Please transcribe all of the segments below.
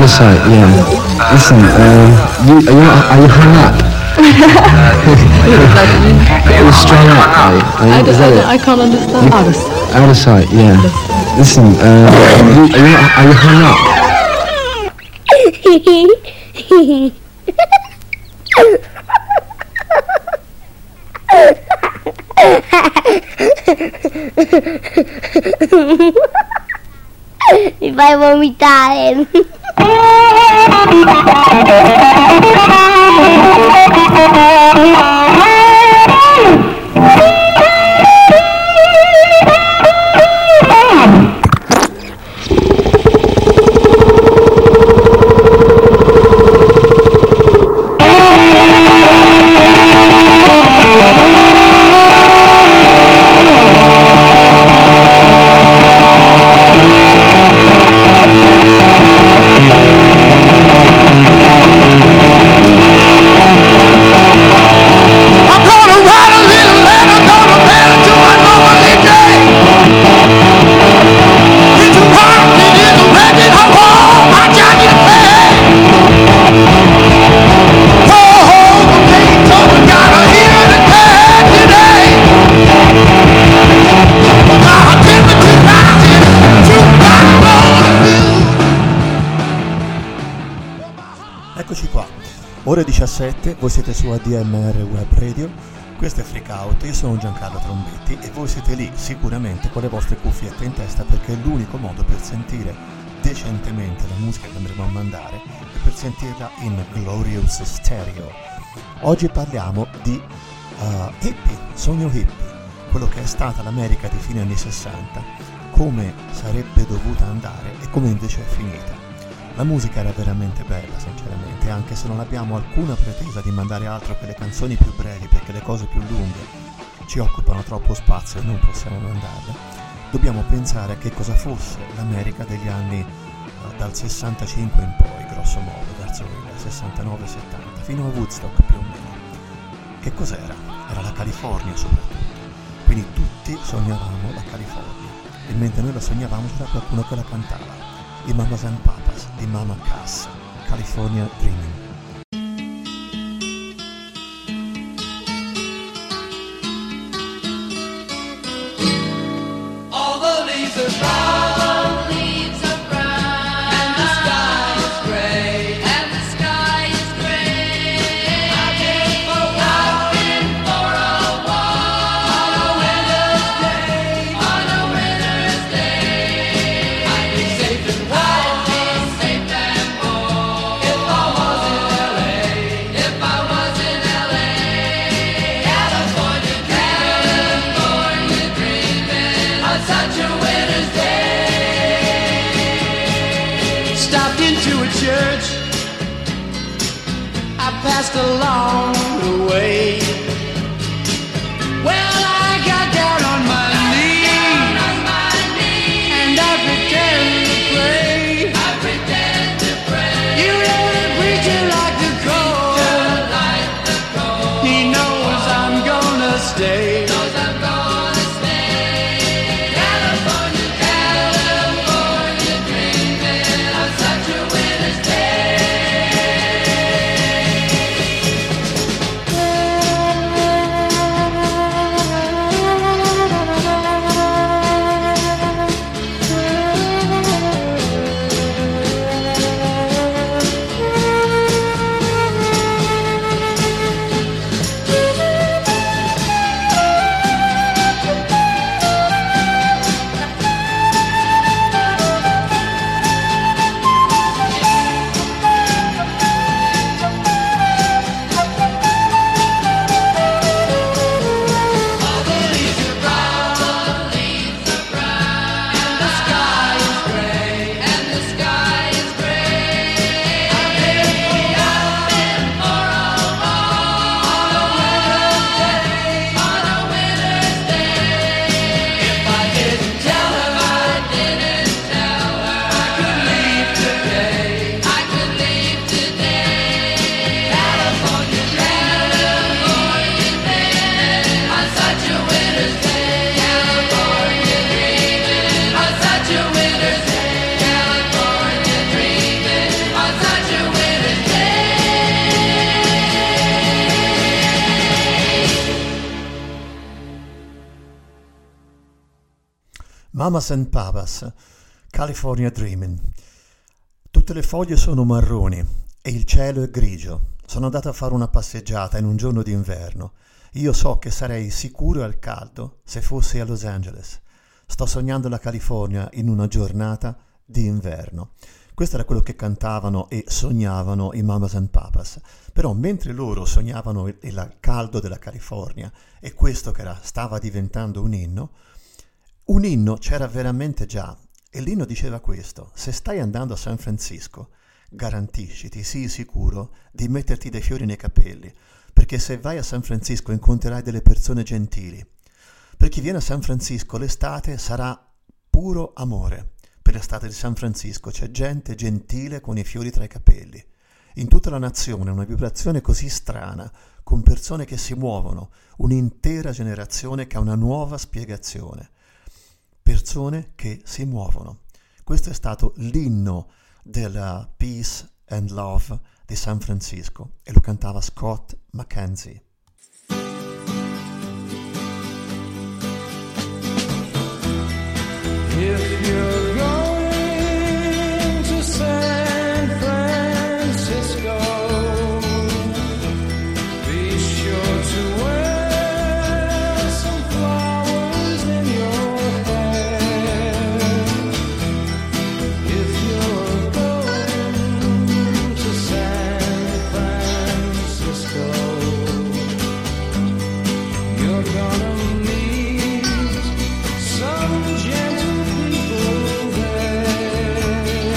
side, yeah. Listen, are you hung up? You're strung up, is that it? I can't understand. Out of sight, yeah. Listen, are you hung up? Mi fai vomitare. Ore 17, voi siete su ADMR Web Radio, questo è Freak Out, io sono Giancarlo Trombetti e voi siete lì sicuramente con le vostre cuffiette in testa perché è l'unico modo per sentire decentemente la musica che andremo a mandare e per sentirla in Glorious Stereo. Oggi parliamo di hippie, sogno hippie, quello che è stata l'America di fine anni 60, come sarebbe dovuta andare e come invece è finita. La musica era veramente bella, sinceramente, anche se non abbiamo alcuna pretesa di mandare altro che le canzoni più brevi, perché le cose più lunghe ci occupano troppo spazio e non possiamo mandarle. Dobbiamo pensare a che cosa fosse l'America degli anni dal 65 in poi, grosso modo, verso il 69-70, fino a Woodstock più o meno. Che cos'era? Era la California soprattutto. Quindi tutti sognavamo la California, e mentre noi la sognavamo c'era qualcuno che la cantava. I Mamas and Papas di Mama Cass, California Dreaming. All the leaves are brown, leaves are brown, and the sky is gray, and the sky is gray. I've been for a walk on a winter's day, on a winter's day. I'd be safe and warm, if I was in LA, if I was in LA. California, California dreaming on such a winter's day. Stopped into a church, I passed along the way. Well, I got down on my knees, and I pretend to pray. I pretend to pray. You know the preacher like the cold. He knows I'm gonna stay. Knows I'm gonna stay. California, California dreaming on such a winter's day. Mamas and Papas, California Dreaming. Tutte le foglie sono marroni e il cielo è grigio. Sono andato a fare una passeggiata in un giorno d'inverno. Io so che sarei sicuro al caldo se fossi a Los Angeles. Sto sognando la California in una giornata di inverno. Questo era quello che cantavano e sognavano i Mamas and Papas. Però mentre loro sognavano il caldo della California e questo che stava diventando un inno c'era veramente già. E l'inno diceva questo: se stai andando a San Francisco, garantisciti, sii sicuro di metterti dei fiori nei capelli, perché se vai a San Francisco incontrerai delle persone gentili. Per chi viene a San Francisco l'estate sarà puro amore. Per l'estate di San Francisco c'è gente gentile con i fiori tra i capelli. In tutta la nazione una vibrazione così strana, con persone che si muovono, un'intera generazione che ha una nuova spiegazione. Persone che si muovono. Questo è stato l'inno della Peace and Love di San Francisco e lo cantava Scott McKenzie. If you're going to San Francisco, be sure to wear some flowers in your hair. If you're going to San Francisco, you're gonna meet some gentle people there.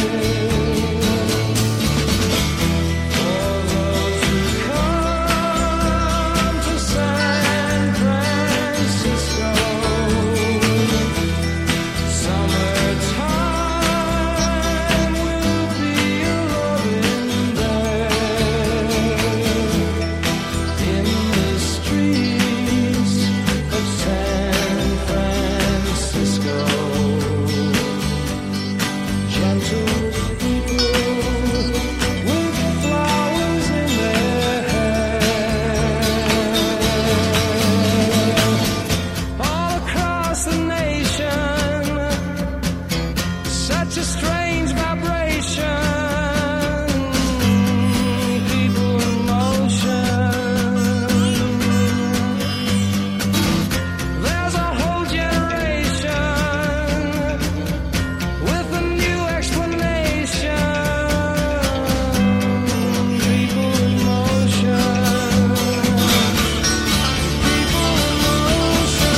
For those who come to San Francisco, summertime will be a-loving there. In the streets of San Francisco, gentle people with flowers in their hair. All across the nation, such a strange vibration. People in motion. There's a whole generation with a new explanation. People in motion. People in motion.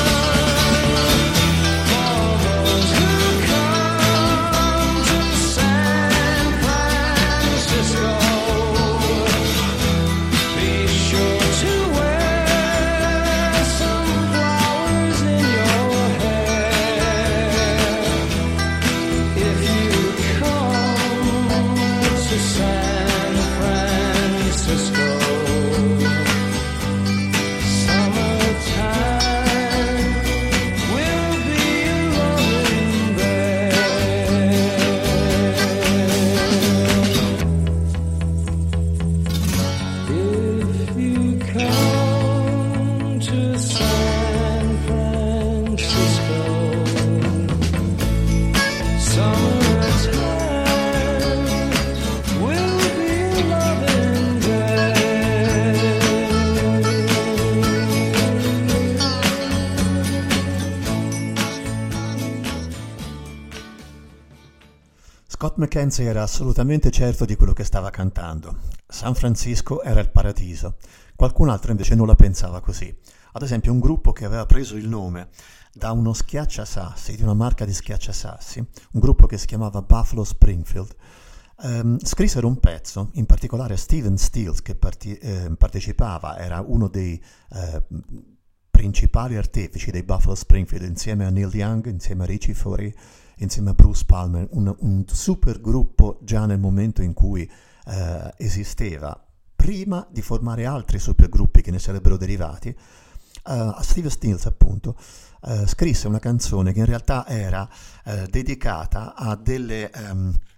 For those who come to San Francisco, be sure to wear some flowers in your hair. If you come to San Francisco, summertime will be a-loving there. If you come to San Francisco, summertime will be a-loving there. Scott McKenzie era assolutamente certo di quello che stava cantando. San Francisco era il paradiso. Qualcun altro invece non la pensava così. Ad esempio un gruppo che aveva preso il nome da uno schiacciasassi, di una marca di schiacciasassi, un gruppo che si chiamava Buffalo Springfield, scrissero un pezzo, in particolare Steven Stills che partecipava, era uno dei principali artefici dei Buffalo Springfield, insieme a Neil Young, insieme a Richie Fauré, insieme a Bruce Palmer, un super gruppo già nel momento in cui esisteva, prima di formare altri supergruppi che ne sarebbero derivati. Steve Stills appunto scrisse una canzone che in realtà era dedicata a delle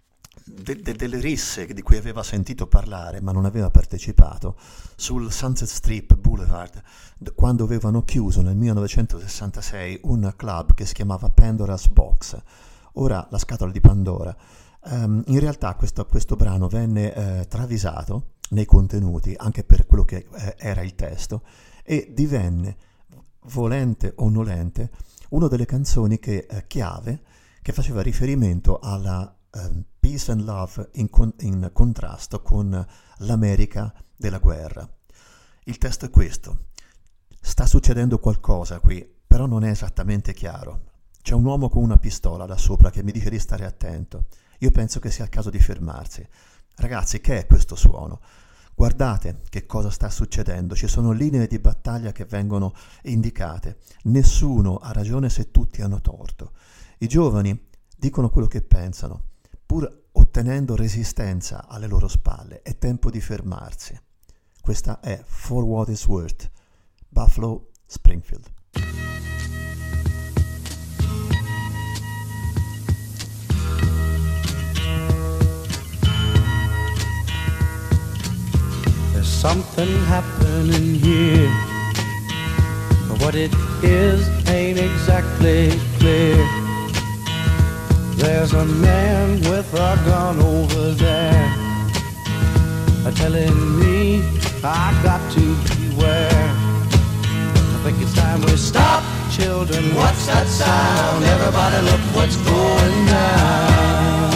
delle risse di cui aveva sentito parlare ma non aveva partecipato sul Sunset Strip Boulevard quando avevano chiuso nel 1966 un club che si chiamava Pandora's Box, ora la scatola di Pandora. In realtà questo brano venne travisato nei contenuti anche per quello che era il testo e divenne, volente o nolente, una delle canzoni chiave che faceva riferimento alla peace and love in contrasto con l'America della guerra. Il testo è questo: sta succedendo qualcosa qui, però non è esattamente chiaro. C'è un uomo con una pistola là sopra che mi dice di stare attento. Io penso che sia il caso di fermarsi. Ragazzi, che è questo suono? Guardate che cosa sta succedendo, ci sono linee di battaglia che vengono indicate, nessuno ha ragione se tutti hanno torto. I giovani dicono quello che pensano, pur ottenendo resistenza alle loro spalle. È tempo di fermarsi. Questa è For What It's Worth, Buffalo Springfield. There's something happening here, but what it is ain't exactly clear. There's a man with a gun over there, telling me I got to beware. I think it's time we stop, children. What's that sound? Everybody look what's going down.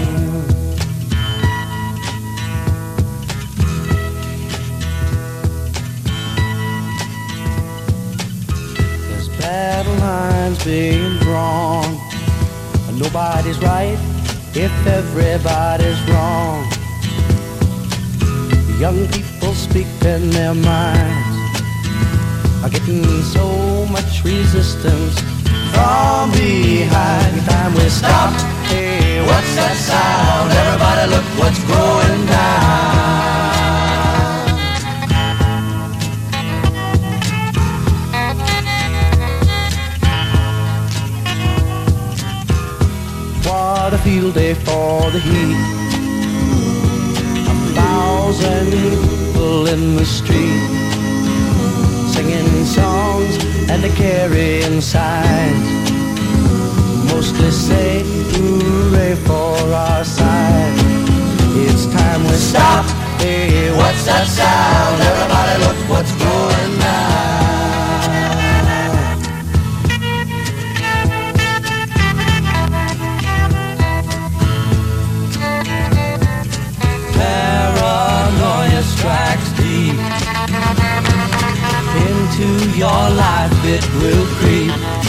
There's battle lines being drawn. Nobody's right if everybody's wrong. Young people speaking their minds are getting so much resistance from behind. It's time we stopped. Hey, what's that sound? Everybody look what's going down. What a field day for the heat. 1,000 people in the street, singing songs and carrying signs, mostly say hooray for our side. It's time we stop. Hey, what's that sound? Everybody look what's going down. Paranoia strikes deep into your life, it will creep.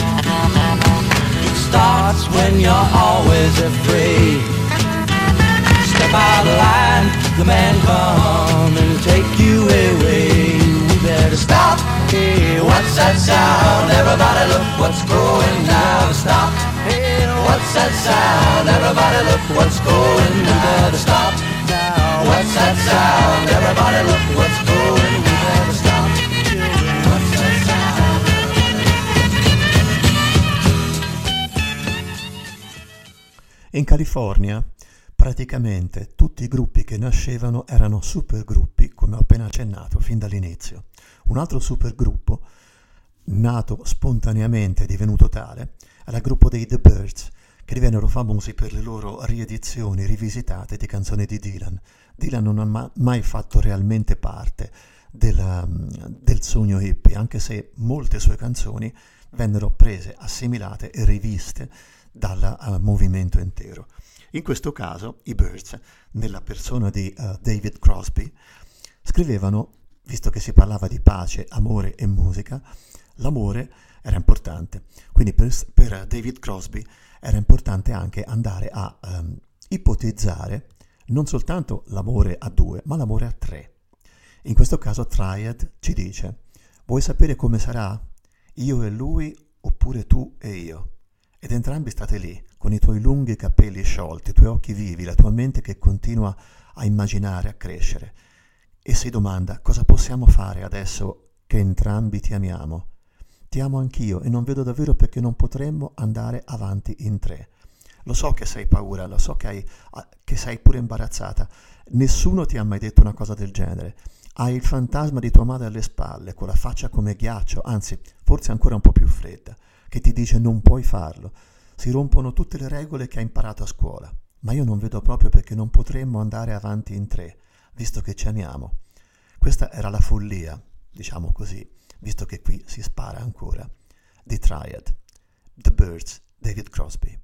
It starts when you're always afraid. Step out of line, the man come and take you away. We better stop. Hey, what's that sound? Everybody look what's going down. Stop. Hey, what's that sound? Everybody look what's going down. We better stop. What's that sound? Everybody look what's going. We better stop. What's that sound? In California praticamente tutti i gruppi che nascevano erano supergruppi, come ho appena accennato fin dall'inizio. Un altro supergruppo nato spontaneamente e divenuto tale era il gruppo dei The Byrds, che divennero famosi per le loro riedizioni rivisitate di canzoni di Dylan. Dylan non ha mai fatto realmente parte del sogno hippie, anche se molte sue canzoni vennero prese, assimilate e riviste dal movimento intero. In questo caso i Byrds, nella persona di David Crosby, scrivevano, visto che si parlava di pace, amore e musica, l'amore era importante. Quindi per David Crosby era importante anche andare a ipotizzare non soltanto l'amore a due, ma l'amore a tre. In questo caso Triad ci dice: vuoi sapere come sarà? Io e lui oppure tu e io? Ed entrambi state lì, con i tuoi lunghi capelli sciolti, i tuoi occhi vivi, la tua mente che continua a immaginare, a crescere. E si domanda: cosa possiamo fare adesso che entrambi ti amiamo? Ti amo anch'io e non vedo davvero perché non potremmo andare avanti in tre. Lo so che sei paura, lo so che sei pure imbarazzata. Nessuno ti ha mai detto una cosa del genere. Hai il fantasma di tua madre alle spalle, con la faccia come ghiaccio, anzi, forse ancora un po' più fredda, che ti dice non puoi farlo. Si rompono tutte le regole che hai imparato a scuola. Ma io non vedo proprio perché non potremmo andare avanti in tre, visto che ci amiamo. Questa era la follia, diciamo così, visto che qui si spara ancora. The Triad, The Byrds, David Crosby.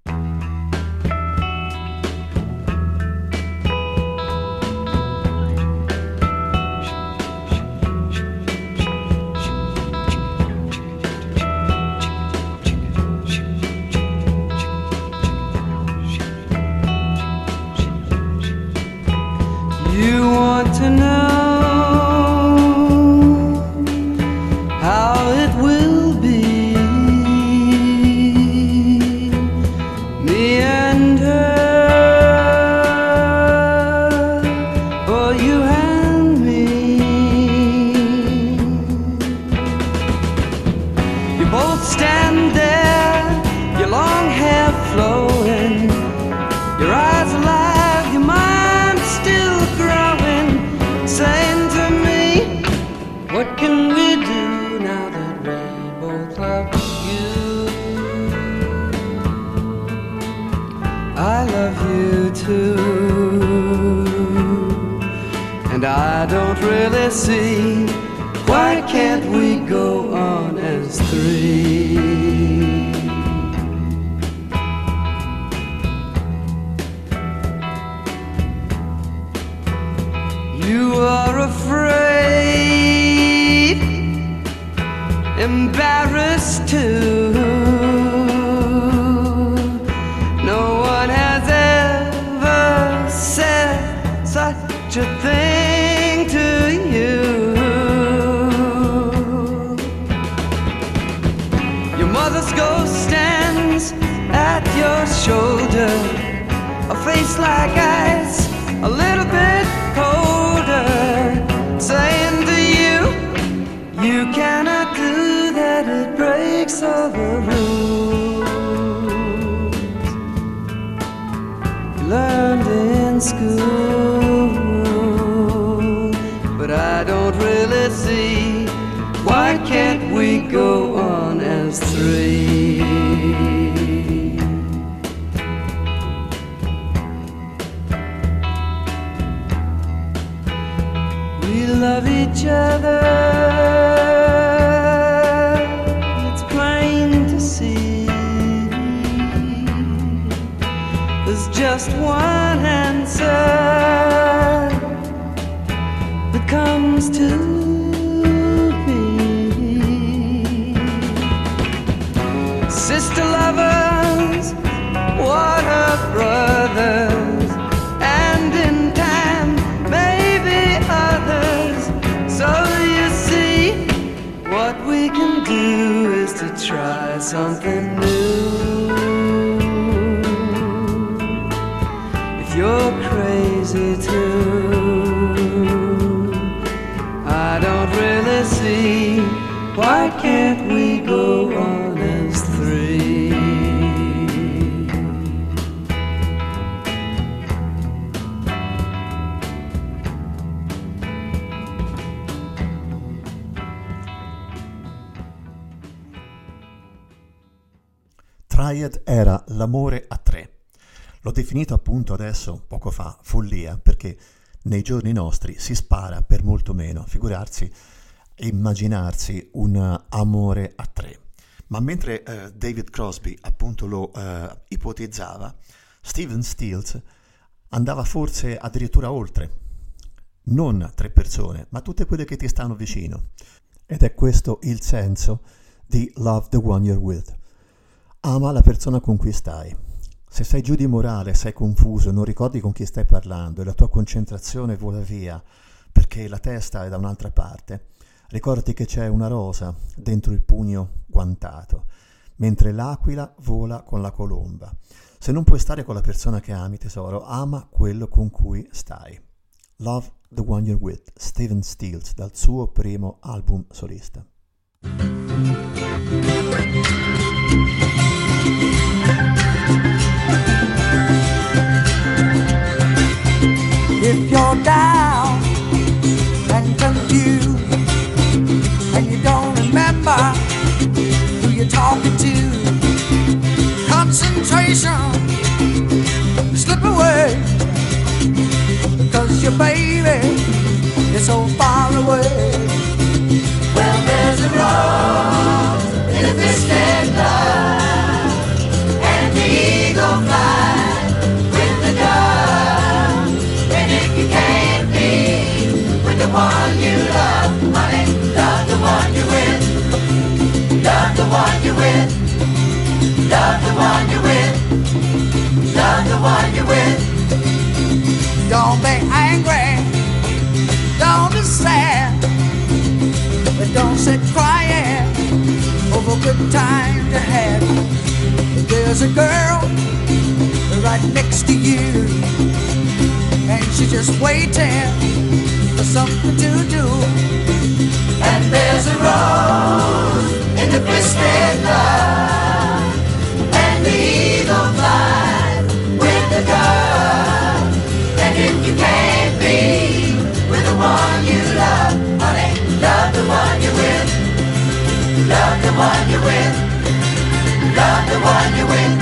You want to know how it will be, me and her, or you and me. You both stand there, your long hair flowing, your eyes alive, your mind still growing, saying to me, what can we do now that we both love you? I love you too, and I don't really see, why can't we go on as three? You are afraid, embarrassed too. No one has ever said such a thing to you. Your mother's ghost stands at your shoulder, a face like ice, a little bit colder, saying to you, you cannot do that, it breaks all the rules you learned in school. But I don't really see, why can't we go on as three? We love each other, it's plain to see. There's just one answer that comes to me. Sister lovers, water brothers, and in time maybe others. So you see, what we can do is to try something new. If you're crazy too, I don't really see, why can't we go on as three? Triad era l'amore a tre. L'ho definito appunto adesso, poco fa, follia, perché nei giorni nostri si spara per molto meno, figurarsi, immaginarsi un amore a tre. Ma mentre David Crosby appunto lo ipotizzava, Stephen Stills andava forse addirittura oltre. Non tre persone, ma tutte quelle che ti stanno vicino. Ed è questo il senso di Love the One You're With. Ama la persona con cui stai. Se sei giù di morale, sei confuso, non ricordi con chi stai parlando e la tua concentrazione vola via perché la testa è da un'altra parte, ricordati che c'è una rosa dentro il pugno guantato, mentre l'aquila vola con la colomba. Se non puoi stare con la persona che ami, tesoro, ama quello con cui stai. Love the One You're With, Stephen Stills, dal suo primo album solista. you, baby, it's so far away. Well, there's a rose in a twisted love, and the eagle flies with the dove. And if you can't be with the one you love, honey, love the one you're with. Love the one you're with. Love the one you're with. Love the one you're with. Don't be angry, don't be sad, but don't sit crying over good times you had. There's a girl right next to you, and she's just waiting for something to do. And there's a rose in the twisted love, and the eagle flies with the dove. And if you can't be with the one you love, honey, love the one you're with. Love the one you're with. Love the one you're with.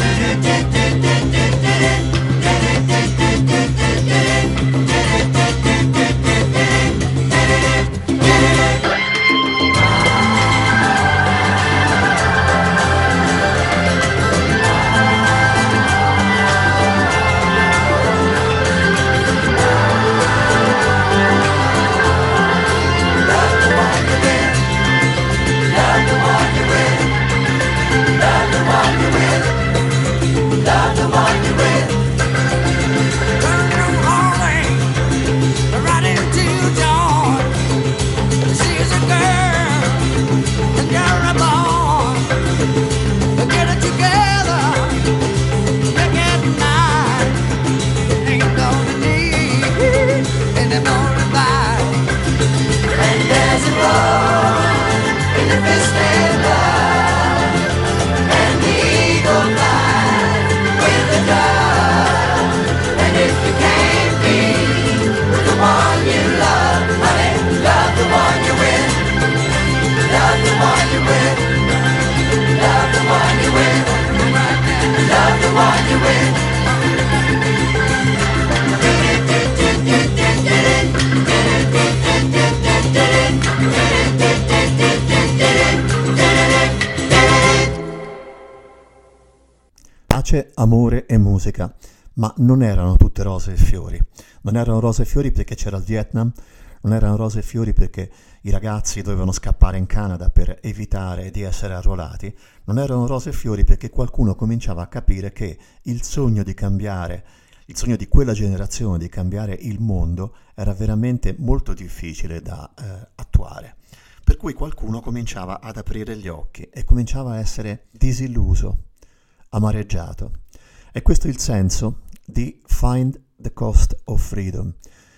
Pace, amore e musica, ma non erano tutte rose e fiori. Non erano rose e fiori perché c'era il Vietnam, non erano rose e fiori perché i ragazzi dovevano scappare in Canada per evitare di essere arruolati, non erano rose e fiori perché qualcuno cominciava a capire che il sogno di cambiare, il sogno di quella generazione di cambiare il mondo era veramente molto difficile da attuare. Per cui qualcuno cominciava ad aprire gli occhi e cominciava a essere disilluso, amareggiato. E questo è il senso di Find the Cost of Freedom,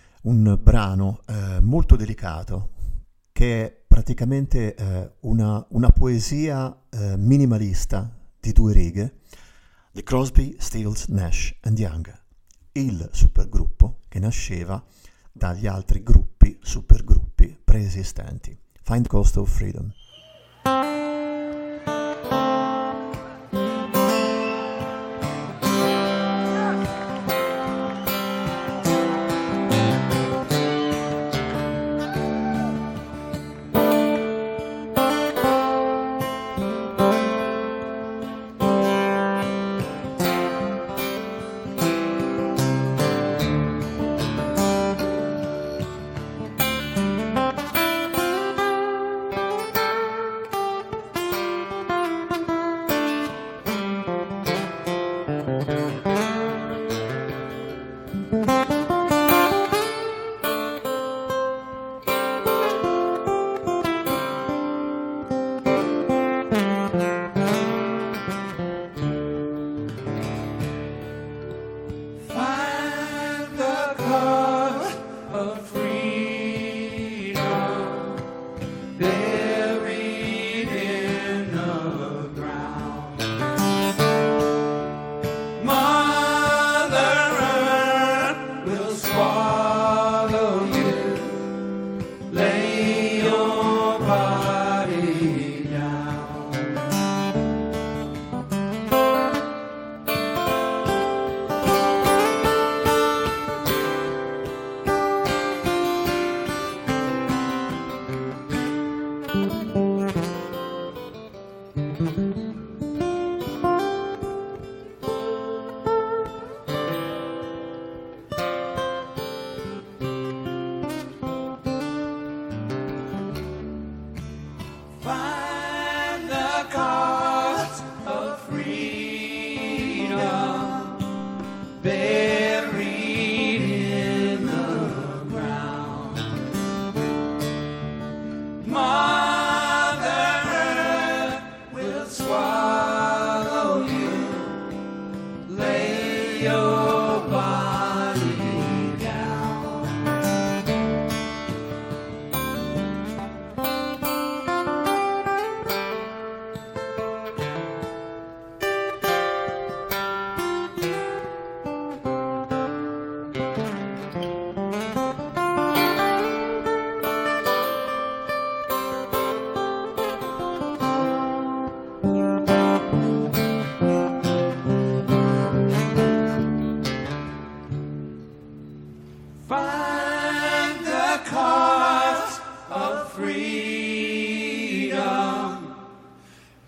un brano molto delicato che è praticamente una poesia minimalista di 2 righe di Crosby, Stills, Nash and Young, il supergruppo che nasceva dagli altri gruppi, supergruppi preesistenti. Find the Cost of Freedom.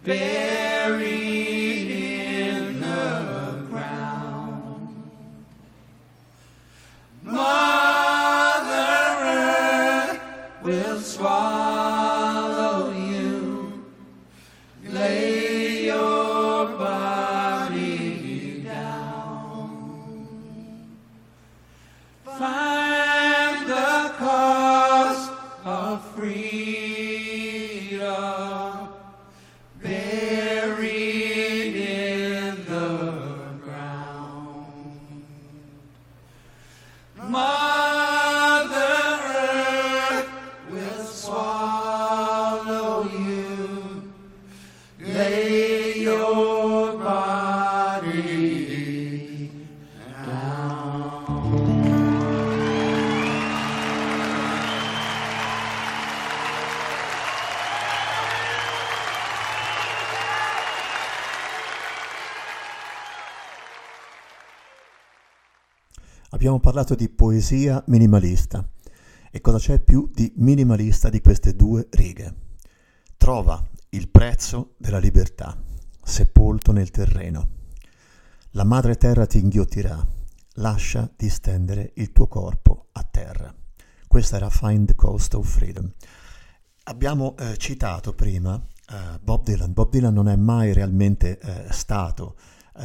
buried in the ground. Mother Earth will swallow you, lay your body down. Find the cost of freedom, buried in the ground. Mother Earth will swallow you, lay your body down. Abbiamo parlato di poesia minimalista. E cosa c'è più di minimalista di queste due righe? Trova il prezzo della libertà, sepolto nel terreno. La madre terra ti inghiottirà, lascia distendere il tuo corpo a terra. Questa era Find the Cost of Freedom. Abbiamo citato prima Bob Dylan. Bob Dylan non è mai realmente stato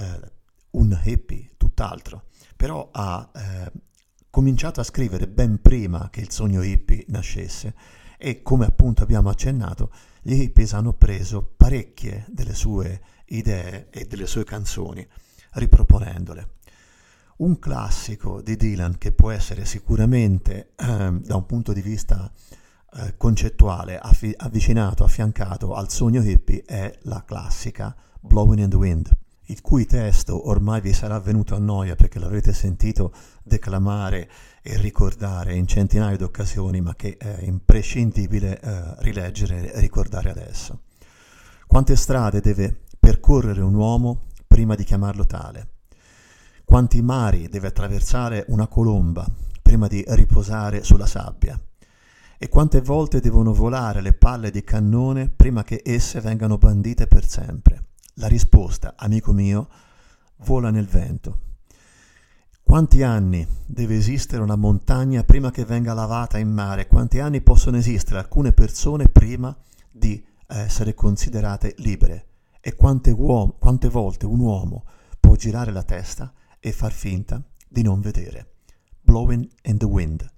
un hippie, tutt'altro. Però ha cominciato a scrivere ben prima che il sogno hippie nascesse e, come appunto abbiamo accennato, gli hippies hanno preso parecchie delle sue idee e delle sue canzoni, riproponendole. Un classico di Dylan che può essere sicuramente da un punto di vista concettuale avvicinato, affiancato al sogno hippie è la classica Blowing in the Wind, il cui testo ormai vi sarà venuto a noia perché l'avrete sentito declamare e ricordare in centinaia di occasioni, ma che è imprescindibile rileggere e ricordare adesso. Quante strade deve percorrere un uomo prima di chiamarlo tale? Quanti mari deve attraversare una colomba prima di riposare sulla sabbia? E quante volte devono volare le palle di cannone prima che esse vengano bandite per sempre? La risposta, amico mio, vola nel vento. Quanti anni deve esistere una montagna prima che venga lavata in mare? Quanti anni possono esistere alcune persone prima di essere considerate libere? E quante volte un uomo può girare la testa e far finta di non vedere? Blowing in the Wind.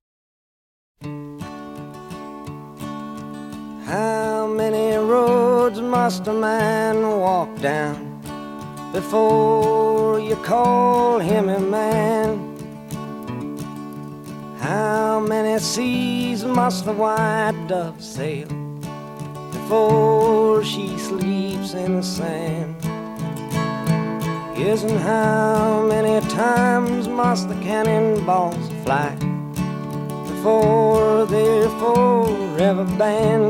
How many roads must a man walk down before you call him a man? How many seas must the white dove sail before she sleeps in the sand? Yes, and how many times must the cannonballs fly before they're forever banned?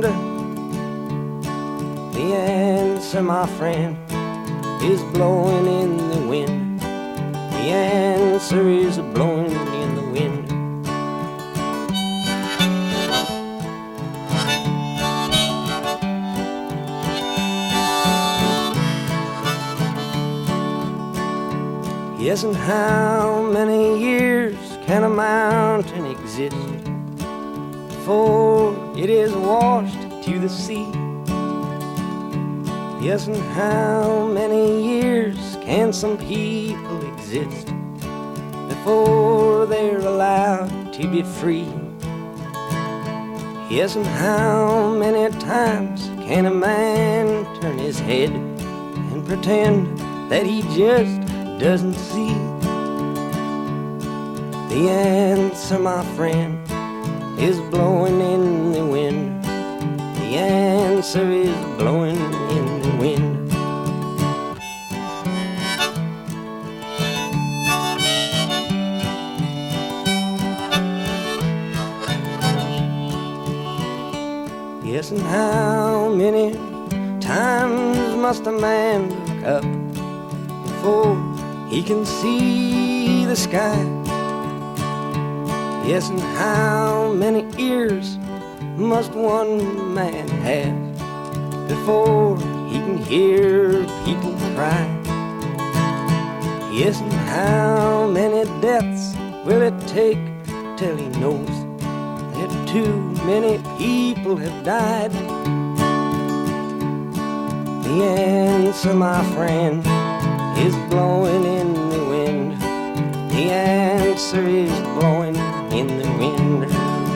The answer, my friend, is blowing in the wind. The answer is blowing in the wind. Yes, and how many years can a mountain exist before it is washed to the sea? Yes, and how many years can some people exist before they're allowed to be free? Yes, and how many times can a man turn his head and pretend that he just doesn't see? The answer, my friend, is blowing in the wind. The answer is blowing in the wind. Yes, and how many times must a man look up before he can see the sky? Yes, and how many ears must one man have before he can hear people cry. Yes, and how many deaths will it take till he knows that too many people have died? The answer, my friend, is blowing in the wind. The answer is blowing in the wind.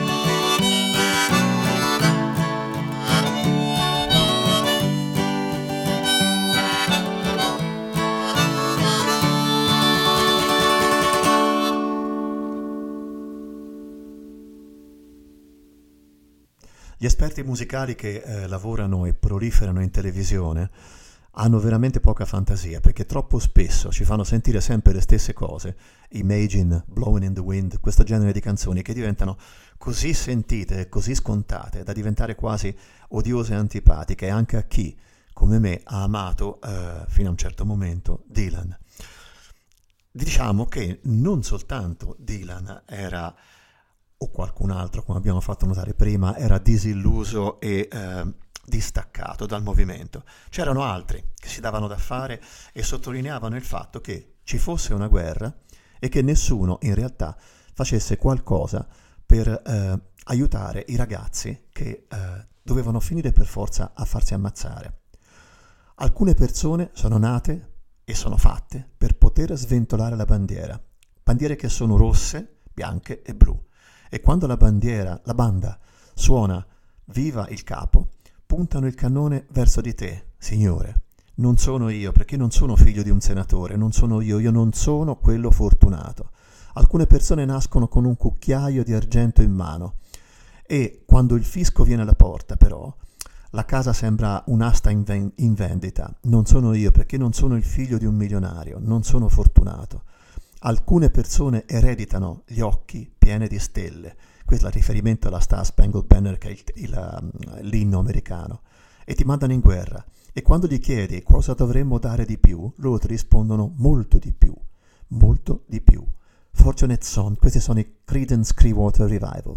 Gli esperti musicali che lavorano e proliferano in televisione hanno veramente poca fantasia, perché troppo spesso ci fanno sentire sempre le stesse cose, Imagine, Blowing in the Wind, questo genere di canzoni che diventano così sentite e così scontate da diventare quasi odiose e antipatiche anche a chi, come me, ha amato fino a un certo momento Dylan. Diciamo che non soltanto Dylan era, o qualcun altro, come abbiamo fatto notare prima, era disilluso e distaccato dal movimento. C'erano altri che si davano da fare e sottolineavano il fatto che ci fosse una guerra e che nessuno in realtà facesse qualcosa per aiutare i ragazzi che dovevano finire per forza a farsi ammazzare. Alcune persone sono nate e sono fatte per poter sventolare la bandiere che sono rosse, bianche e blu. E quando la banda suona Viva il capo, puntano il cannone verso di te, Signore. Non sono io, perché non sono figlio di un senatore, non sono io non sono quello fortunato. Alcune persone nascono con un cucchiaio di argento in mano e quando il fisco viene alla porta, però, la casa sembra un'asta in vendita. Non sono io, perché non sono il figlio di un milionario, non sono fortunato. Alcune persone ereditano gli occhi pieni di stelle. Questo è il riferimento alla Star Spangled Banner, che è l'inno americano. E ti mandano in guerra. E quando gli chiedi cosa dovremmo dare di più, loro ti rispondono molto di più. Molto di più. Fortunate Son, questi sono i Creedence Clearwater Revival.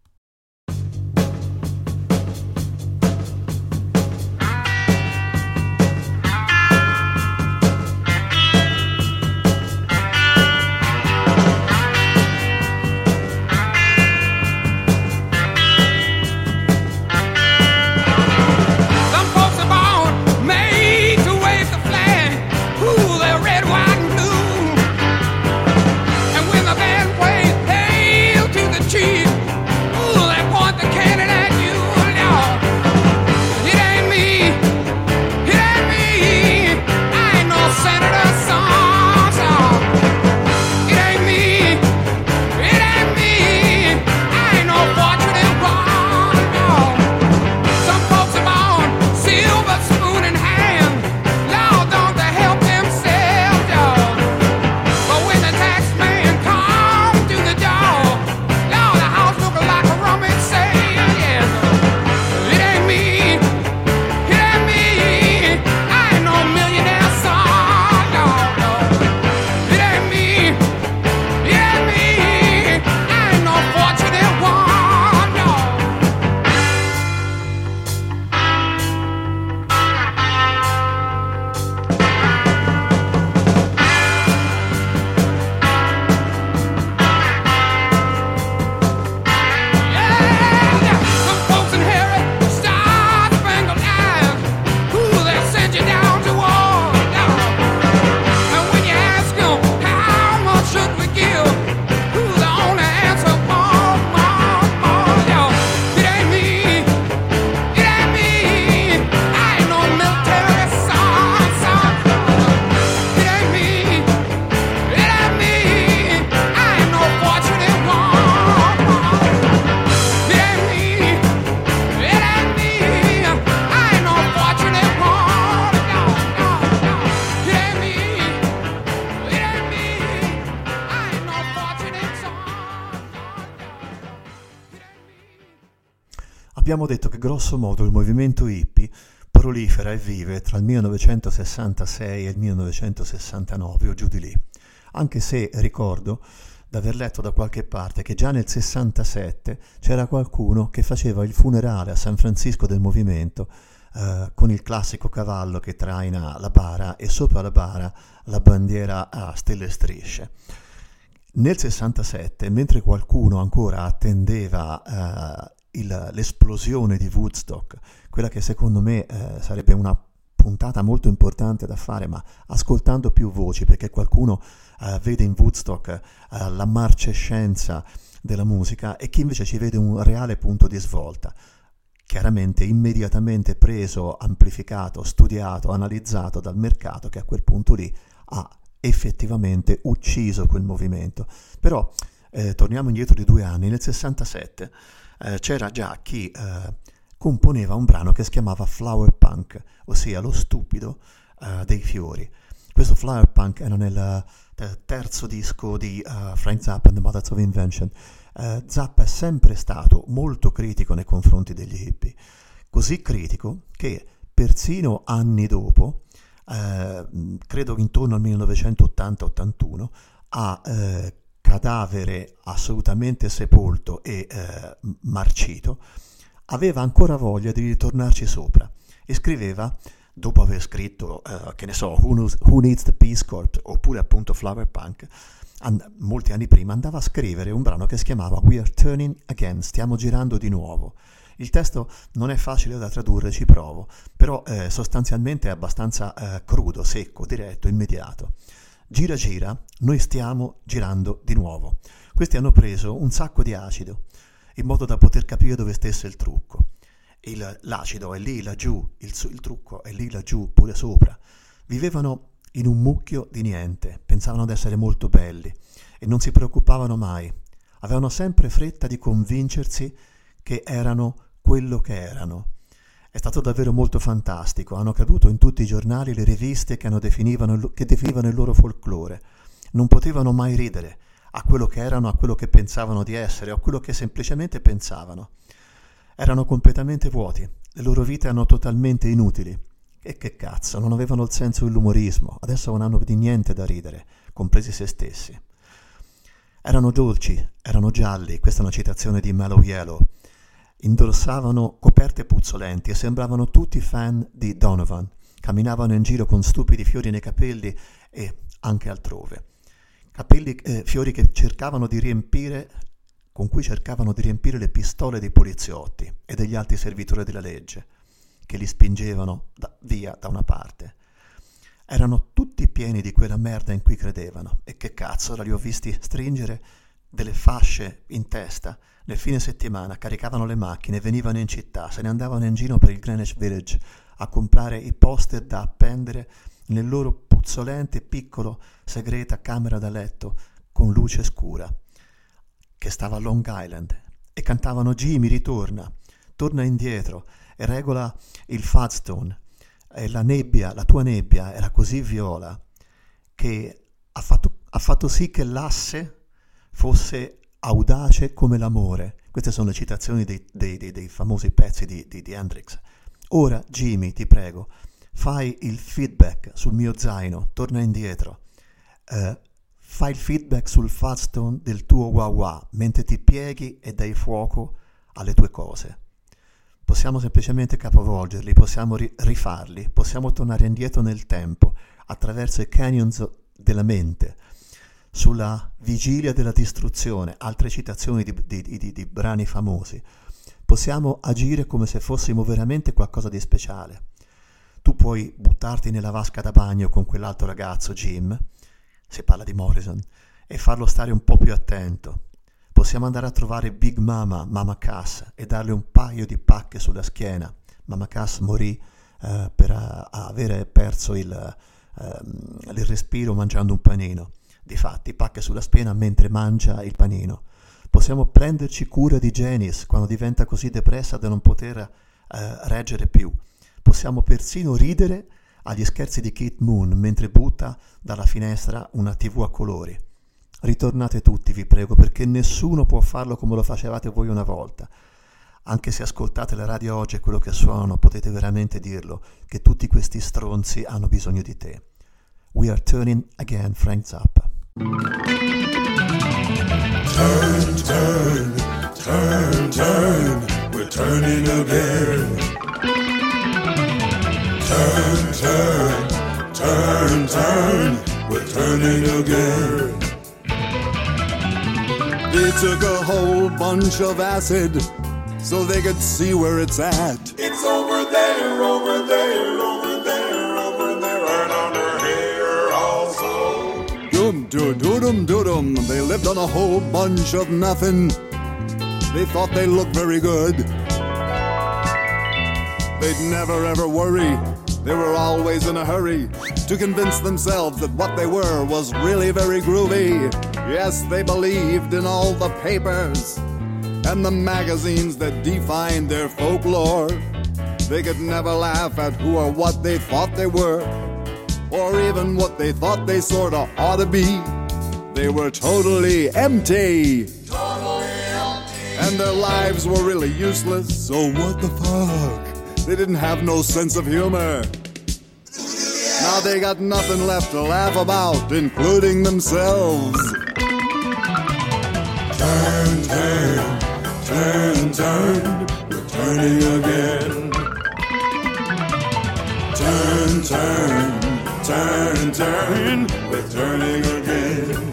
Abbiamo detto che grosso modo il movimento hippie prolifera e vive tra il 1966 e il 1969 o giù di lì, anche se ricordo d'aver letto da qualche parte che già nel 67 c'era qualcuno che faceva il funerale a San Francisco del movimento con il classico cavallo che traina la bara e sopra la bara la bandiera a stelle e strisce. Nel 67, mentre qualcuno ancora attendeva l'esplosione di Woodstock, quella che secondo me sarebbe una puntata molto importante da fare, ma ascoltando più voci, perché qualcuno vede in Woodstock la marcescenza della musica e chi invece ci vede un reale punto di svolta, chiaramente immediatamente preso, amplificato, studiato, analizzato dal mercato, che a quel punto lì ha effettivamente ucciso quel movimento. Però torniamo indietro di 2 anni, nel 67 c'era già chi componeva un brano che si chiamava Flower Punk, ossia lo stupido dei fiori. Questo Flower Punk era nel terzo disco di Frank Zappa and the Mothers of Invention. Zappa è sempre stato molto critico nei confronti degli hippie, così critico che persino anni dopo, credo intorno al 1980-81, a cadavere assolutamente sepolto e marcito, aveva ancora voglia di ritornarci sopra e scriveva, dopo aver scritto, che ne so, Who Needs the Peace Corps, oppure appunto Flower Punk, molti anni prima andava a scrivere un brano che si chiamava We Are Turning Again, stiamo girando di nuovo. Il testo non è facile da tradurre, ci provo, però sostanzialmente è abbastanza crudo, secco, diretto, immediato. Gira gira, noi stiamo girando di nuovo. Questi hanno preso un sacco di acido, in modo da poter capire dove stesse il trucco. L'acido è lì laggiù, il trucco è lì laggiù, pure sopra. Vivevano in un mucchio di niente, pensavano di essere molto belli e non si preoccupavano mai. Avevano sempre fretta di convincersi che erano quello che erano. È stato davvero molto fantastico, hanno caduto in tutti i giornali le riviste che definivano il loro folklore. Non potevano mai ridere a quello che erano, a quello che pensavano di essere, o a quello che semplicemente pensavano. Erano completamente vuoti, le loro vite erano totalmente inutili. E che cazzo, non avevano il senso dell'umorismo, adesso non hanno di niente da ridere, compresi se stessi. Erano dolci, erano gialli, questa è una citazione di Mellow Yellow. Indossavano coperte puzzolenti e sembravano tutti fan di Donovan. Camminavano in giro con stupidi fiori nei capelli e anche altrove. Fiori che cercavano di riempire, con cui cercavano di riempire le pistole dei poliziotti e degli alti servitori della legge, che li spingevano via da una parte. Erano tutti pieni di quella merda in cui credevano. E che cazzo, ora li ho visti stringere delle fasce in testa. Nel fine settimana caricavano le macchine, venivano in città, se ne andavano in giro per il Greenwich Village a comprare i poster da appendere nel loro puzzolente piccolo segreta camera da letto con luce scura, che stava a Long Island, e cantavano Jimmy ritorna, torna indietro e regola il Fudstone. E la tua nebbia era così viola che ha fatto sì che l'asse fosse audace come l'amore. Queste sono le citazioni dei famosi pezzi di Hendrix. Ora, Jimmy, ti prego, fai il feedback sul mio zaino, torna indietro. Fai il feedback sul Fudstone del tuo wah-wah, mentre ti pieghi e dai fuoco alle tue cose. Possiamo semplicemente capovolgerli, possiamo rifarli, possiamo tornare indietro nel tempo, attraverso i canyons della mente, sulla vigilia della distruzione, altre citazioni di brani famosi. Possiamo agire come se fossimo veramente qualcosa di speciale. Tu puoi buttarti nella vasca da bagno con quell'altro ragazzo, Jim, si parla di Morrison, e farlo stare un po' più attento. Possiamo andare a trovare Big Mama Cass, e darle un paio di pacche sulla schiena. Mama Cass morì per avere perso il respiro mangiando un panino. Difatti, pacche sulla schiena mentre mangia il panino. Possiamo prenderci cura di Janice quando diventa così depressa da non poter reggere più. Possiamo persino ridere agli scherzi di Keith Moon mentre butta dalla finestra una TV a colori. Ritornate tutti, vi prego, perché nessuno può farlo come lo facevate voi una volta. Anche se ascoltate la radio oggi e quello che suonano, potete veramente dirlo, che tutti questi stronzi hanno bisogno di te. We are turning again, Frank Zappa. Turn, turn, turn, turn, we're turning again. turn, turn, turn, we're turning again. They took a whole bunch of acid so they could see where it's at. It's over there, over there, over there, over there, and under here also. Doom-doo-doo-dum-doo-dum. They lived on a whole bunch of nothing. They thought they looked very good. They'd never ever worry. They were always in a hurry to convince themselves that what they were was really very groovy. Yes, they believed in all the papers and the magazines that defined their folklore. They could never laugh at who or what they thought they were, or even what they thought they sorta ought to be. They were totally empty. And their lives were really useless, so what the fuck? They didn't have no sense of humor. Now they got nothing left to laugh about, including themselves. Turn, turn, turn, turn, we're turning again. Turn, turn, turn, turn, we're turning again.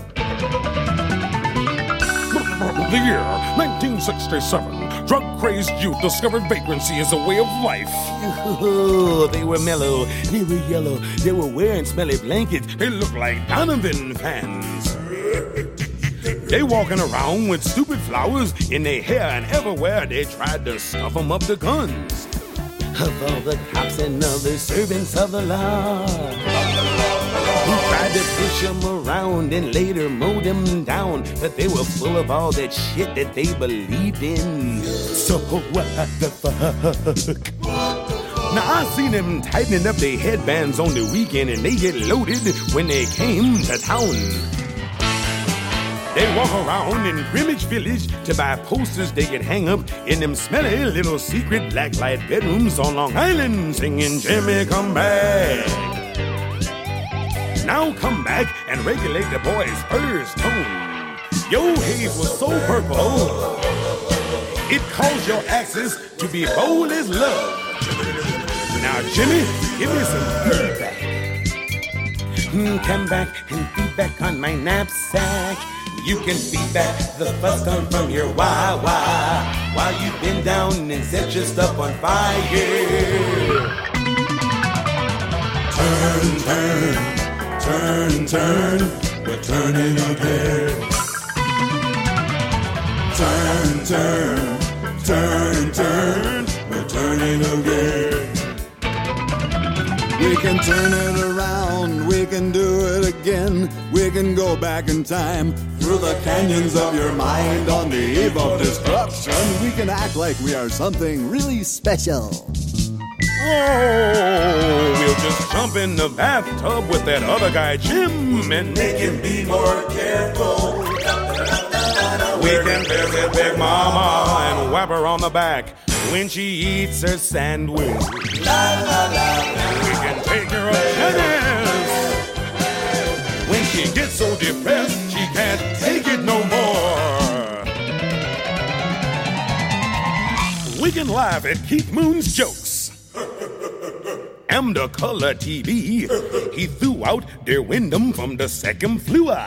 The year 1967. Drug-crazed youth discovered vagrancy as a way of life. Ooh, they were mellow, they were yellow, they were wearing smelly blankets. They looked like Donovan fans. They walking around with stupid flowers in their hair, and everywhere they tried to stuff them up the guns. Of all the cops and other servants of the law who tried to push them around and later mow them down, but they were full of all that shit that they believed in. So what the fuck? Now I seen them tightening up their headbands on the weekend, and they get loaded when they came to town. They walk around in Greenwich Village to buy posters they could hang up in them smelly little secret blacklight bedrooms on Long Island, singing Jimmy Come Back. Now come back and regulate the boys' first tone. Your haze was so purple, it caused your axes to be bold as love. Now, Jimmy, give me some feedback. Come back and feedback on my knapsack. You can feedback the fuss come from your wah-wah while you've been down and set your stuff on fire. Turn, turn, turn, turn, we're turning again. Turn, turn, turn, turn, we're turning again. We can turn it around, we can do it again. We can go back in time through the canyons of your mind on the eve of destruction. We can act like we are something really special. Oh, we'll just jump in the bathtub with that other guy, Jim, and Make him be more careful. we can visit Big Mama and whap her on the back when she eats her sandwich. We can take her upstairs when she gets so depressed she can't take it no more. We can laugh at Keith Moon's jokes. And the color TV he threw out their Wyndham from the second floor.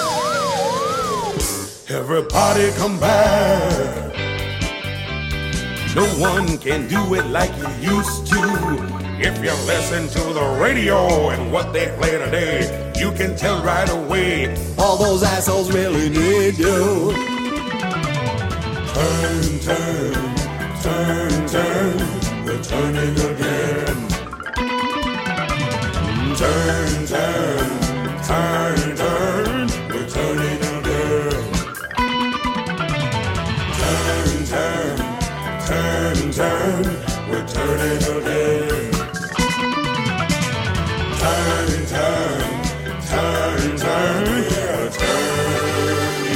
Everybody come back. No one can do it like you used to. If you listen to the radio and what they play today, you can tell right away All those assholes really need you. Turn, turn, turn, turn, we're turning again. Turn, turn, turn, turn, we're turning again. Turn, turn, turn, turn, we're turning again. Turn, turn, turn, turn, we're turning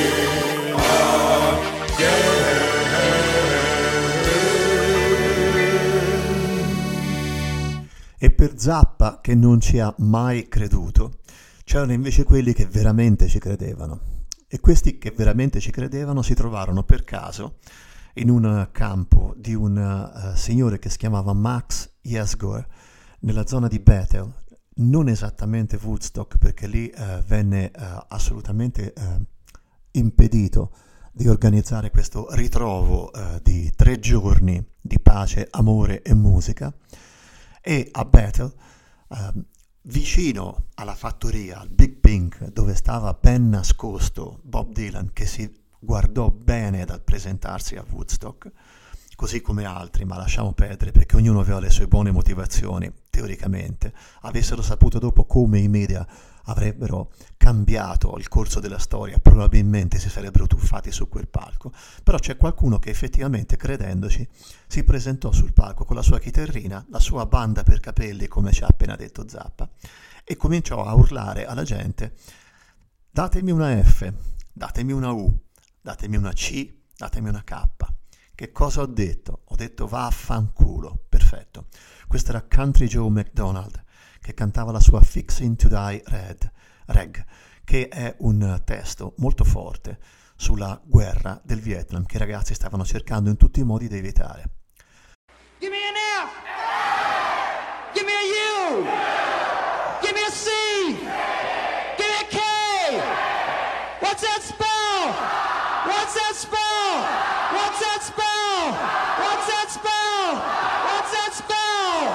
again. E per Zappa, che non ci ha mai creduto, c'erano invece quelli che veramente ci credevano. E questi che veramente ci credevano si trovarono per caso in un campo di un signore che si chiamava Max Yesgor, nella zona di Bethel, non esattamente Woodstock, perché lì venne assolutamente impedito di organizzare questo ritrovo di 3 giorni di pace, amore e musica, e a Bethel, vicino alla fattoria, al Big Pink, dove stava ben nascosto Bob Dylan, che si guardò bene dal presentarsi a Woodstock, così come altri, ma lasciamo perdere perché ognuno aveva le sue buone motivazioni, teoricamente. Avessero saputo dopo come i media avrebbero cambiato il corso della storia, probabilmente si sarebbero tuffati su quel palco. Però c'è qualcuno che effettivamente, credendoci, si presentò sul palco con la sua chitarrina, la sua banda per capelli, come ci ha appena detto Zappa, e cominciò a urlare alla gente: datemi una F, datemi una U, datemi una C, datemi una K. Che cosa ho detto? Ho detto vaffanculo. Perfetto. Questo era Country Joe McDonald, che cantava la sua Fixin' to Die Reg, che è un testo molto forte sulla guerra del Vietnam che i ragazzi stavano cercando in tutti i modi di evitare. Give me an F. Give me a U. Give me a C. Give me a K. What's that spell? What's that spell? What's that spell? What's that spell? What's that spell?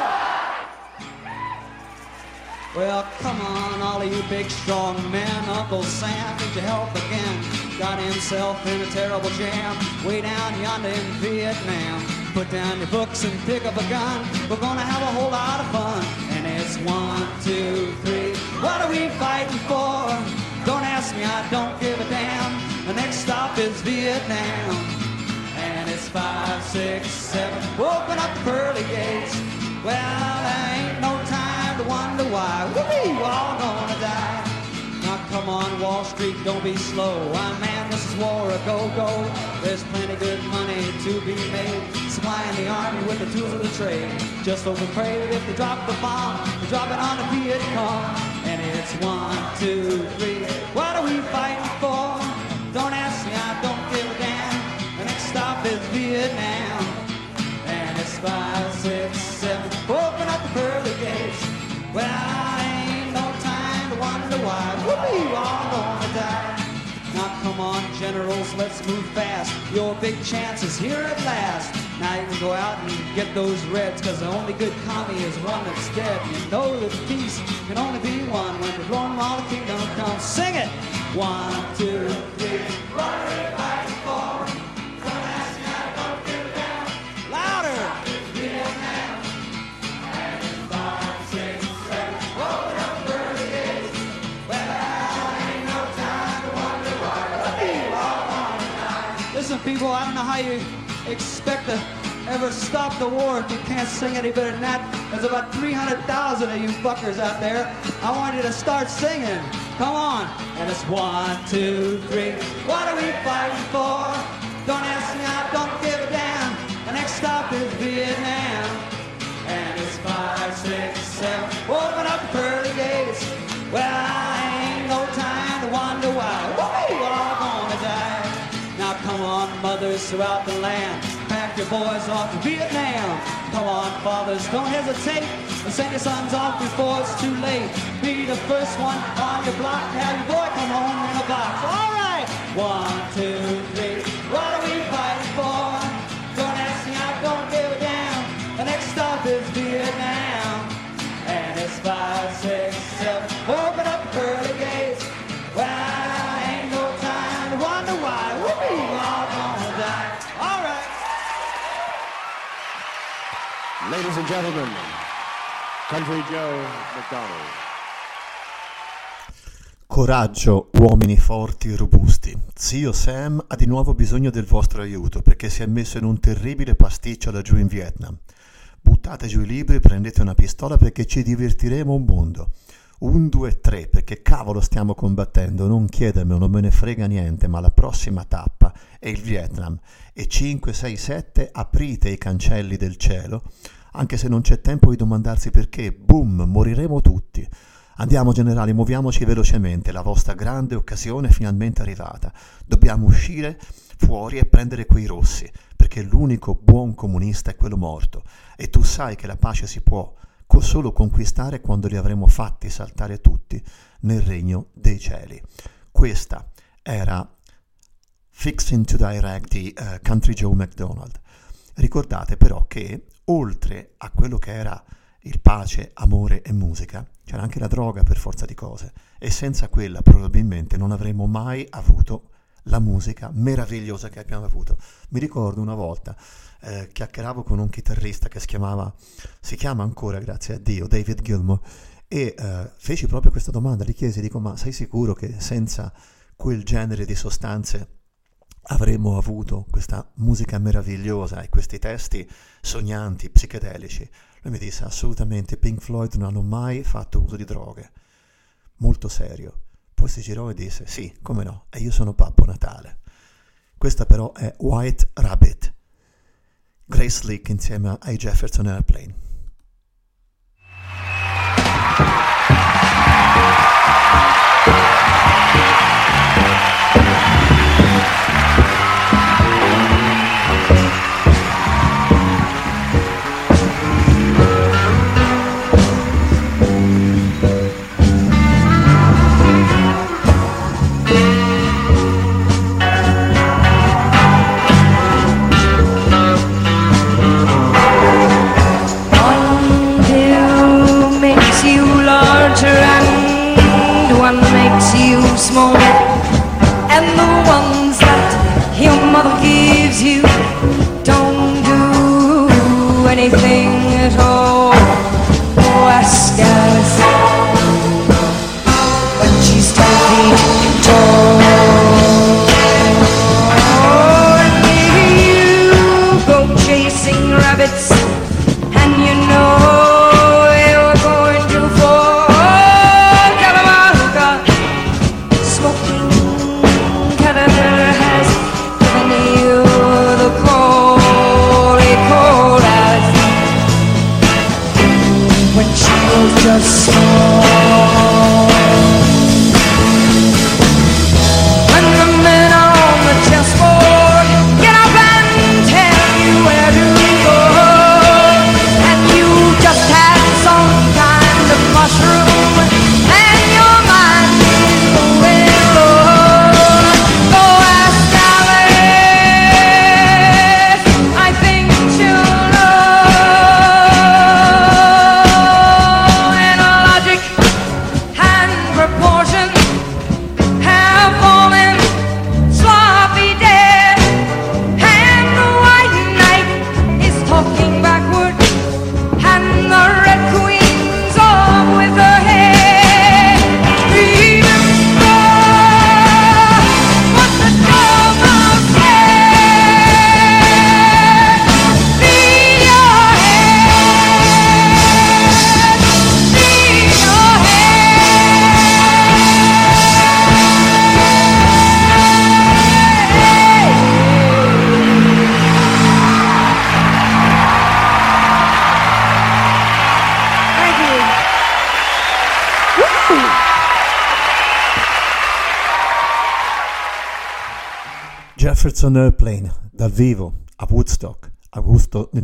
Well, come on, all of you big strong men. Uncle Sam needs your help again. Got himself in a terrible jam way down yonder in Vietnam. Put down your books and pick up a gun. We're gonna have a whole lot of fun. And it's 1, 2, 3. What are we fighting for? Don't ask me, I don't give a damn. The next stop is Vietnam. And it's 5, 6, 7. Open up the pearly gates. Well, there ain't no time to wonder why. We're all gonna die. Now come on, Wall Street, don't be slow. I man, this is war, a go-go. There's plenty good money to be made, supplying the army with the tools of the trade. Just hope and pray that if they drop the bomb, they drop it on the Viet Cong. And it's 1, 2, 3. What are we fighting for? Don't ask me, I don't give a damn. The next stop is Vietnam. And it's 5, 6, 7. Open up the pearly gates. Well, ain't no time to wonder why. We're all gonna die. Now come on, generals, let's move fast. Your big chance is here at last. Now you can go out and get those reds, cause the only good commie is one that's dead. You know that peace can only be one when the Roman all the kingdom comes. Sing it! 1, 2, 3. What are we fighting for? Don't ask me, I don't give a damn. Louder! Vietnam. And it's 5, 6, 7. Open up the pearly gates. Well, ain't no time to wonder why. We're all gonna die. Listen, people, I don't know how you expect to ever stop the war if you can't sing any better than that. There's about 300,000 of you fuckers out there. I want you to start singing. Come on. And it's 1, 2, 3. What are we fighting for? Don't ask me, I don't give a damn. The next stop is Vietnam. And it's 5, 6, 7. Open up the pearly gates. Well, ain't no time to wonder why. We're all gonna die. Now come on, mothers throughout the land, pack your boys off to Vietnam. Come on, fathers, don't hesitate, and send your sons off before it's too late. Be the first one on your block, have your boy come home in a box. All right, 1, 2, 3. What are we fighting for? Don't ask me, I don't give a damn. The next stop is Vietnam. And it's 5, 6, 7. Open up the pearly gates. Well, ain't no time to wonder why. We're all gonna die. All right. Ladies and gentlemen, Country Joe McDonald. Coraggio, uomini forti e robusti. Zio Sam ha di nuovo bisogno del vostro aiuto perché si è messo in un terribile pasticcio laggiù in Vietnam. Buttate giù i libri, prendete una pistola perché ci divertiremo un mondo. 1, 2, 3, perché cavolo stiamo combattendo, non chiedermelo, non me ne frega niente, ma la prossima tappa è il Vietnam. E 5, 6, 7, aprite i cancelli del cielo, anche se non c'è tempo di domandarsi perché, boom, moriremo tutti. Andiamo generali, muoviamoci velocemente, la vostra grande occasione è finalmente arrivata. Dobbiamo uscire fuori e prendere quei rossi, perché l'unico buon comunista è quello morto. E tu sai che la pace si può solo conquistare quando li avremo fatti saltare tutti nel regno dei cieli. Questa era Fixing to Direct di Country Joe McDonald. Ricordate però che oltre a quello che era il pace, amore e musica, c'era anche la droga per forza di cose, e senza quella probabilmente non avremmo mai avuto la musica meravigliosa che abbiamo avuto. Mi ricordo una volta chiacchieravo con un chitarrista che si chiama ancora, grazie a Dio, David Gilmour, e feci proprio questa domanda, gli chiesi, dico, ma sei sicuro che senza quel genere di sostanze avremmo avuto questa musica meravigliosa e questi testi sognanti, psichedelici? Lui mi disse, assolutamente, Pink Floyd non hanno mai fatto uso di droghe. Molto serio. Poi si girò e disse, sì, come no, e io sono Babbo Natale. Questa però è White Rabbit, Grace Slick insieme ai Jefferson Airplane. Smaller, and the ones that your mother gives you don't do anything at all. Oh, ask Alice when she's 10 feet tall. Oh, and you go chasing rabbits, and you know you're going to fall. Just small. When the men on the chessboard get up and tell you where to go, and you just had some kind of mushroom and your mind is going low. Go ask Alice, I think she'll know. Jefferson Airplane, dal vivo, a Woodstock, agosto del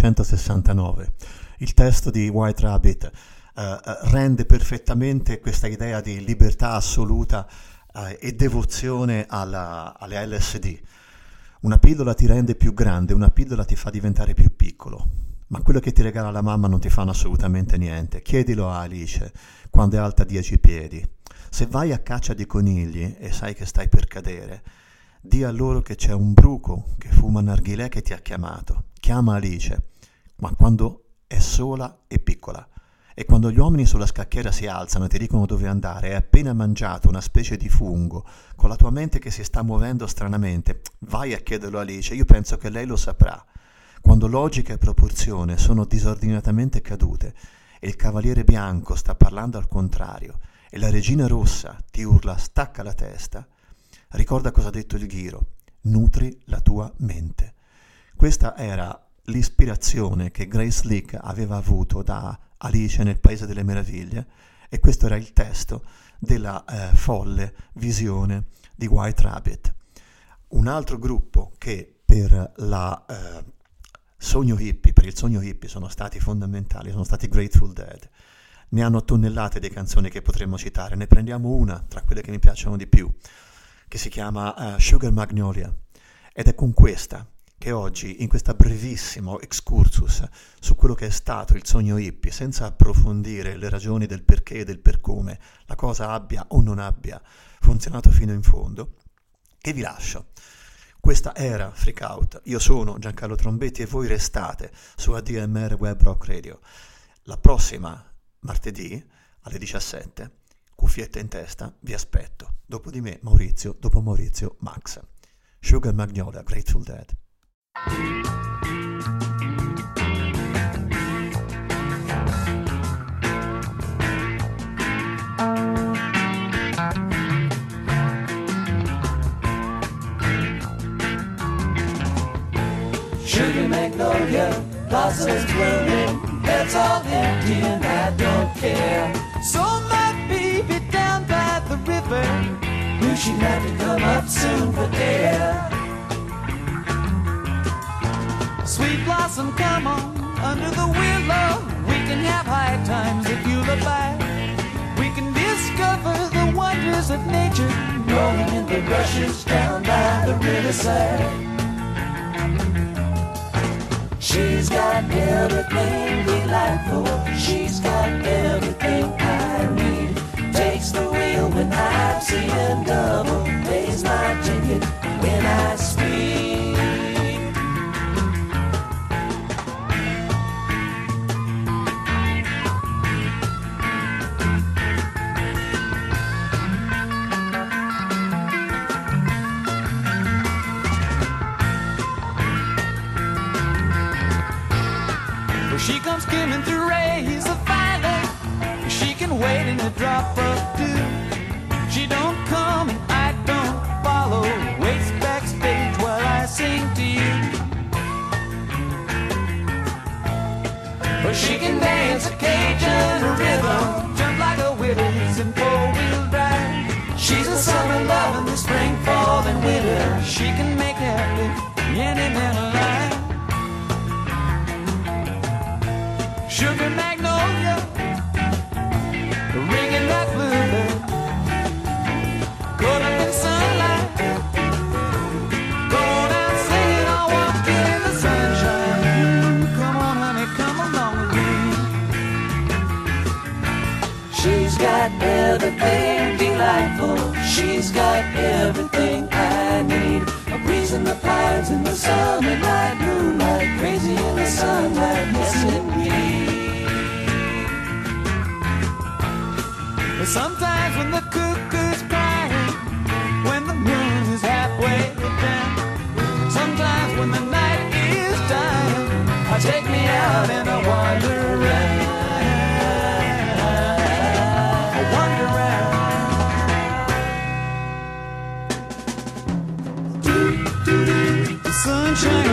1969. Il testo di White Rabbit rende perfettamente questa idea di libertà assoluta e devozione alle LSD. Una pillola ti rende più grande, una pillola ti fa diventare più piccolo, ma quello che ti regala la mamma non ti fanno assolutamente niente. Chiedilo a Alice quando è alta 10 piedi. Se vai a caccia di conigli e sai che stai per cadere, di a loro che c'è un bruco che fuma narghilè che ti ha chiamato. Chiama Alice, ma quando è sola e piccola. E quando gli uomini sulla scacchiera si alzano e ti dicono dove andare, hai appena mangiato una specie di fungo, con la tua mente che si sta muovendo stranamente, vai a chiederlo a Alice, io penso che lei lo saprà. Quando logica e proporzione sono disordinatamente cadute e il cavaliere bianco sta parlando al contrario e la regina rossa ti urla stacca la testa, ricorda cosa ha detto il Ghiro, nutri la tua mente. Questa era l'ispirazione che Grace Slick aveva avuto da Alice nel Paese delle Meraviglie e questo era il testo della folle visione di White Rabbit. Un altro gruppo che per la sogno hippie, per il sogno hippie sono stati fondamentali, sono stati Grateful Dead. Ne hanno tonnellate di canzoni che potremmo citare, ne prendiamo una tra quelle che mi piacciono di più, che si chiama Sugar Magnolia, ed è con questa che oggi, in questo brevissimo excursus su quello che è stato il sogno hippie, senza approfondire le ragioni del perché e del per come la cosa abbia o non abbia funzionato fino in fondo, che vi lascio. Questa era Freak Out, io sono Giancarlo Trombetti e voi restate su ADMR Web Rock Radio. La prossima martedì alle 17, cuffiette in testa, vi aspetto. Dopo di me Maurizio, dopo Maurizio Max. Sugar Magnolia, Grateful Dead. Sugar magnolia, blossoms blooming, it's all empty and I don't care. So my baby down by the river, knew she'd have to come up soon for air. Sweet blossom, come on, under the willow, we can have high times if you look back. We can discover the wonders of nature, rolling in the rushes down by the riverside. She's got everything delightful. She's got everything I need. Takes the wheel when I'm seeing double. Pays my ticket when I speak. She comes skimming through rays of violet. She can wait in a drop of dew. She don't come and I don't follow. Waits backstage while I sing to you. Or she can dance a Cajun rhythm, jump like a widows in four-wheel drive. She's a summer love in the spring, fall, and winter. She can make happy any man alive. Sugar magnolia, ringing that bluebird, caught up in sunlight, going out singing, I walk in the sunshine. Come on, honey, come along with me. She's got everything delightful. She's got everything I need. A breeze in the pines in the summer night, moonlight, crazy in the sunlight, yes indeed. Sometimes when the cuckoo's crying, when the moon is halfway down, sometimes when the night is dying, take me out and I wander around. I wander around. The sunshine